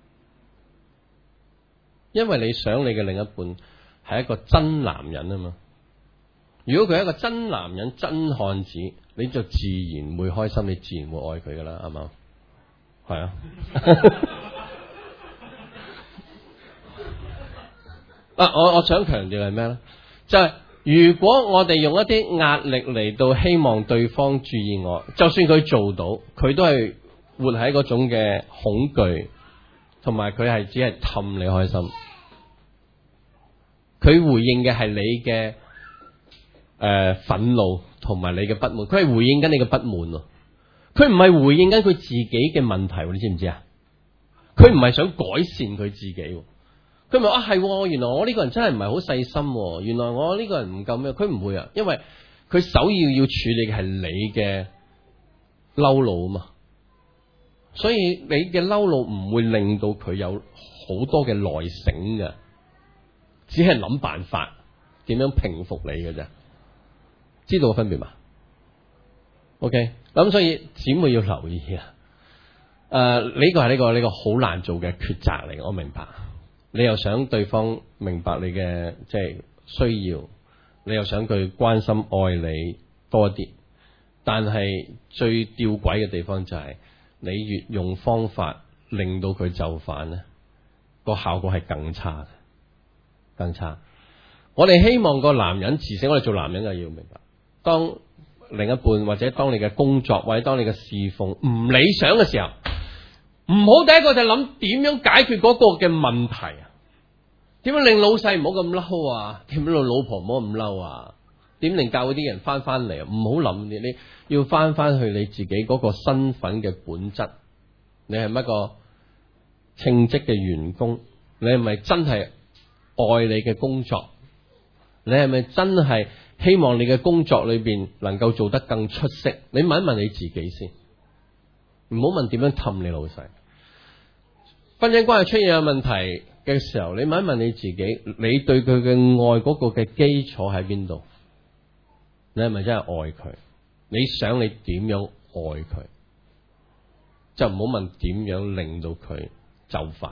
因為你想你嘅另一半係一個真男人啊嘛。如果佢係一個真男人、真漢子，你就自然會開心，你自然會愛佢噶啦，係嘛？係啊。啊，我我想強調係咩咧？就係、是。如果我哋用一啲壓力嚟到希望對方注意我，就算佢做到，佢都係活喺嗰種嘅恐懼，同埋佢係只係氹你開心。佢回應嘅係你嘅誒憤怒同埋你嘅不滿，佢係回應緊你嘅不滿咯。佢唔係回應緊佢自己嘅問題，你知唔知啊？佢唔係想改善佢自己。佢咪啊係，原來我呢個人真係唔係好細心，原來我呢個人唔夠咩？佢唔會啊，因為佢首要要處理嘅係你嘅嬲怒啊嘛，所以你嘅嬲怒唔會令到佢有好多嘅內省嘅，只係諗辦法點樣平復你嘅啫，知道個分別嘛 ？OK，咁所以姊妹要留意啊，誒、呃，呢個係呢個呢個好難做嘅抉擇嚟，我明白。你又想對方明白你嘅即係需要，你又想佢關心愛你多啲，但係最吊詭嘅地方就係、是、你越用方法令到佢就範咧，個效果係更差嘅，更差。我哋希望個男人自省，我哋做男人就要明白，當另一半或者當你嘅工作或者當你嘅侍奉唔理想嘅時候，唔好第一個就諗點樣解決嗰個嘅問題啊？點樣令老細唔好咁嬲啊？點樣令老婆唔好咁嬲啊？點令教會啲人翻翻嚟啊？唔好諗你，你要翻翻去你自己嗰個身份嘅本質。你係乜個稱職嘅員工？你係咪真係愛你嘅工作？你係咪真係希望你嘅工作裏邊能夠做得更出色？你問一問你自己先，唔好問點樣氹你老細。婚姻關係出現有問題嘅時候，你問一問你自己，你對佢嘅愛嗰個嘅基礎喺邊度？你係咪真係愛佢？你想你點樣愛佢？就唔好問點樣令到佢就範。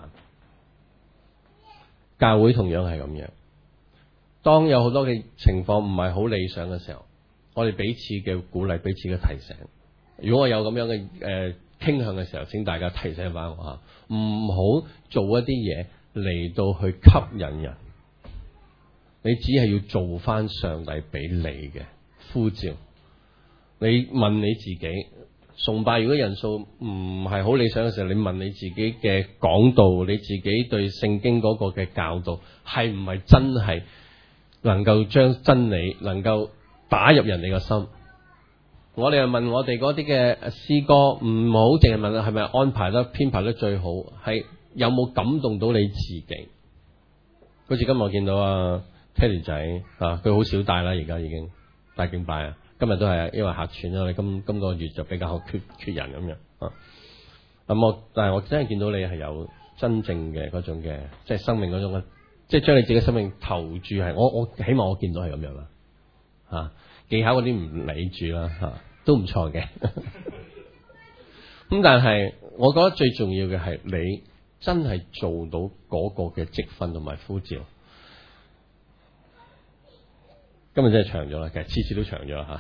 教會同樣係咁樣，當有好多嘅情況唔係好理想嘅時候，我哋彼此嘅鼓勵，彼此嘅提醒。如果我有咁樣嘅誒、呃、傾向嘅時候，請大家提醒翻我吓，唔好做一啲嘢嚟到去吸引人。你只係要做翻上帝俾你嘅呼召。你問你自己，崇拜如果人數唔係好理想嘅時候，你問你自己嘅講道，你自己對聖經嗰個嘅教導係唔係真係能夠將真理能夠打入人哋嘅心？我哋又問我哋嗰啲嘅詩歌，唔好淨係問係咪安排得編排得最好，係有冇感動到你自己？好似今日我見到啊 Teddy 仔啊，佢好少帶啦，而家已經帶敬拜啊， 今日都係因為客串啦，我哋今今個月就比較缺缺人咁樣啊。咁我但係我真係見到你係有真正嘅嗰種嘅，即係生命嗰種嘅，即係將你自己生命投注係，我我起碼我見到係咁樣啦。啊，技巧嗰啲唔理住啦，吓、啊、都唔錯嘅。咁但係我覺得最重要嘅係你真係做到嗰個嘅職分同埋呼召。今日真係長咗啦，其實次次都長咗吓。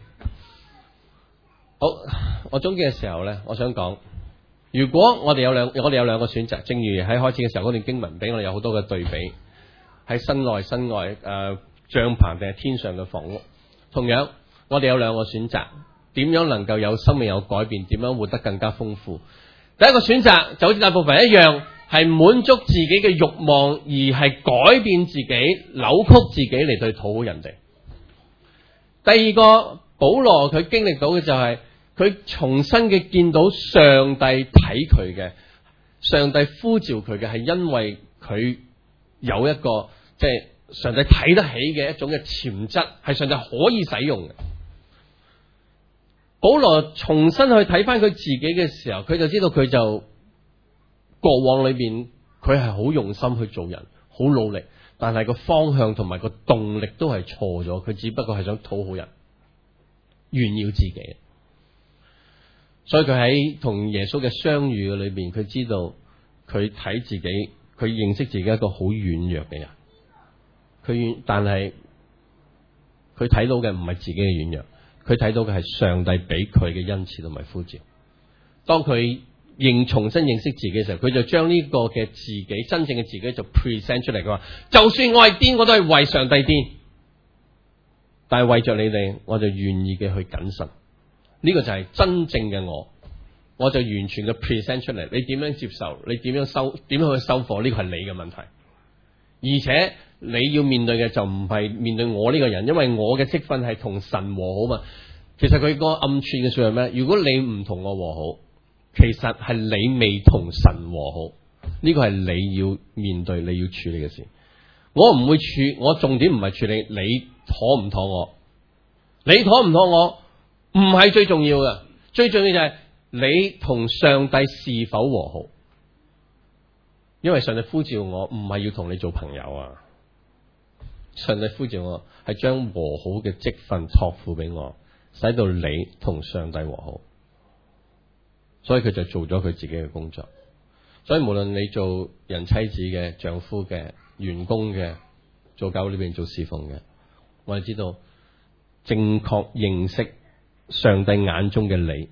好，我總結嘅時候咧，我想講，如果我哋有兩，我哋有兩個選擇，正如喺開始嘅時候嗰段經文俾我哋有好多嘅對比，喺身內身外誒、呃、帳篷定係天上嘅房屋。同樣，我哋有兩個選擇，點樣能夠有生命有改變，點樣活得更加豐富。第一個選擇就好似大部分一樣，係滿足自己嘅慾望，而係改變自己、扭曲自己嚟對討好人哋。第二個，保羅佢經歷到嘅就係、是、佢重新嘅見到上帝睇佢嘅，上帝呼召佢嘅係因為佢有一個即係、就是、上帝睇得起嘅一種嘅潛質，係上帝可以使用嘅。保羅重新去睇翻佢自己嘅時候，佢就知道佢就過往裏邊佢係好用心去做人，好努力，但係個方向同埋個動力都係錯咗，佢只不過係想討好人，炫耀自己。所以佢喺同耶穌嘅相遇嘅裏邊，佢知道佢睇自己，佢認識自己一個好軟弱嘅人。佢但係佢睇到嘅唔係自己嘅軟弱，佢睇到嘅係上帝俾佢嘅恩賜同埋呼召。當佢認重新認識自己嘅時候，佢就將呢個嘅自己真正嘅自己就 present 出嚟。佢話：就算我係癲，我都係為上帝癲。但係為着你哋，我就願意嘅去謹慎。呢、這個就係真正嘅我，我就完全嘅 present 出嚟。你點樣接受？你點樣收？點樣去收貨？呢個係你嘅問題。而且你要面對嘅就唔係面對我呢個人，因為我嘅職分係同神和好嘛。其實佢個暗串嘅說係咩？如果你唔同我和好，其實係你未同神和好。呢個係你要面對、你要處理嘅事。我唔會處，我重點唔係處理你妥唔妥我，你妥唔妥我唔係最重要嘅，最重要就係你同上帝是否和好。因為上帝呼召我唔係要同你做朋友啊，上帝呼召我係將和好嘅職分託付俾我，使到你同上帝和好。所以佢就做咗佢自己嘅工作。所以無論你做人妻子嘅、丈夫嘅、員工嘅、做教會裏邊做侍奉嘅，我哋知道正確認識上帝眼中嘅你，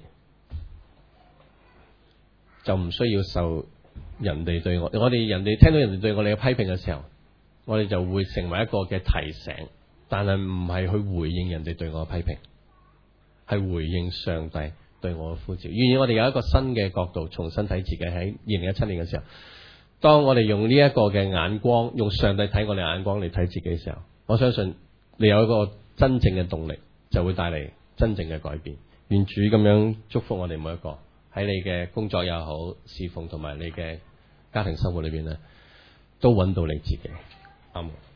就唔需要受人哋對我，我哋人哋聽到人哋對我哋嘅批評嘅時候，我哋就會成為一個嘅提醒，但係唔係去回應人哋對我嘅批評，係回應上帝對我嘅呼召。願意我哋有一個新嘅角度，重新睇自己。喺二零一七年嘅時候，當我哋用呢一個嘅眼光，用上帝睇我哋眼光嚟睇自己嘅時候，我相信你有一個真正嘅動力，就會帶嚟真正嘅改變。願主咁樣祝福我哋每一個，喺你嘅工作又好，侍奉同埋你嘅家庭生活裏邊咧，都揾到你自己。阿門。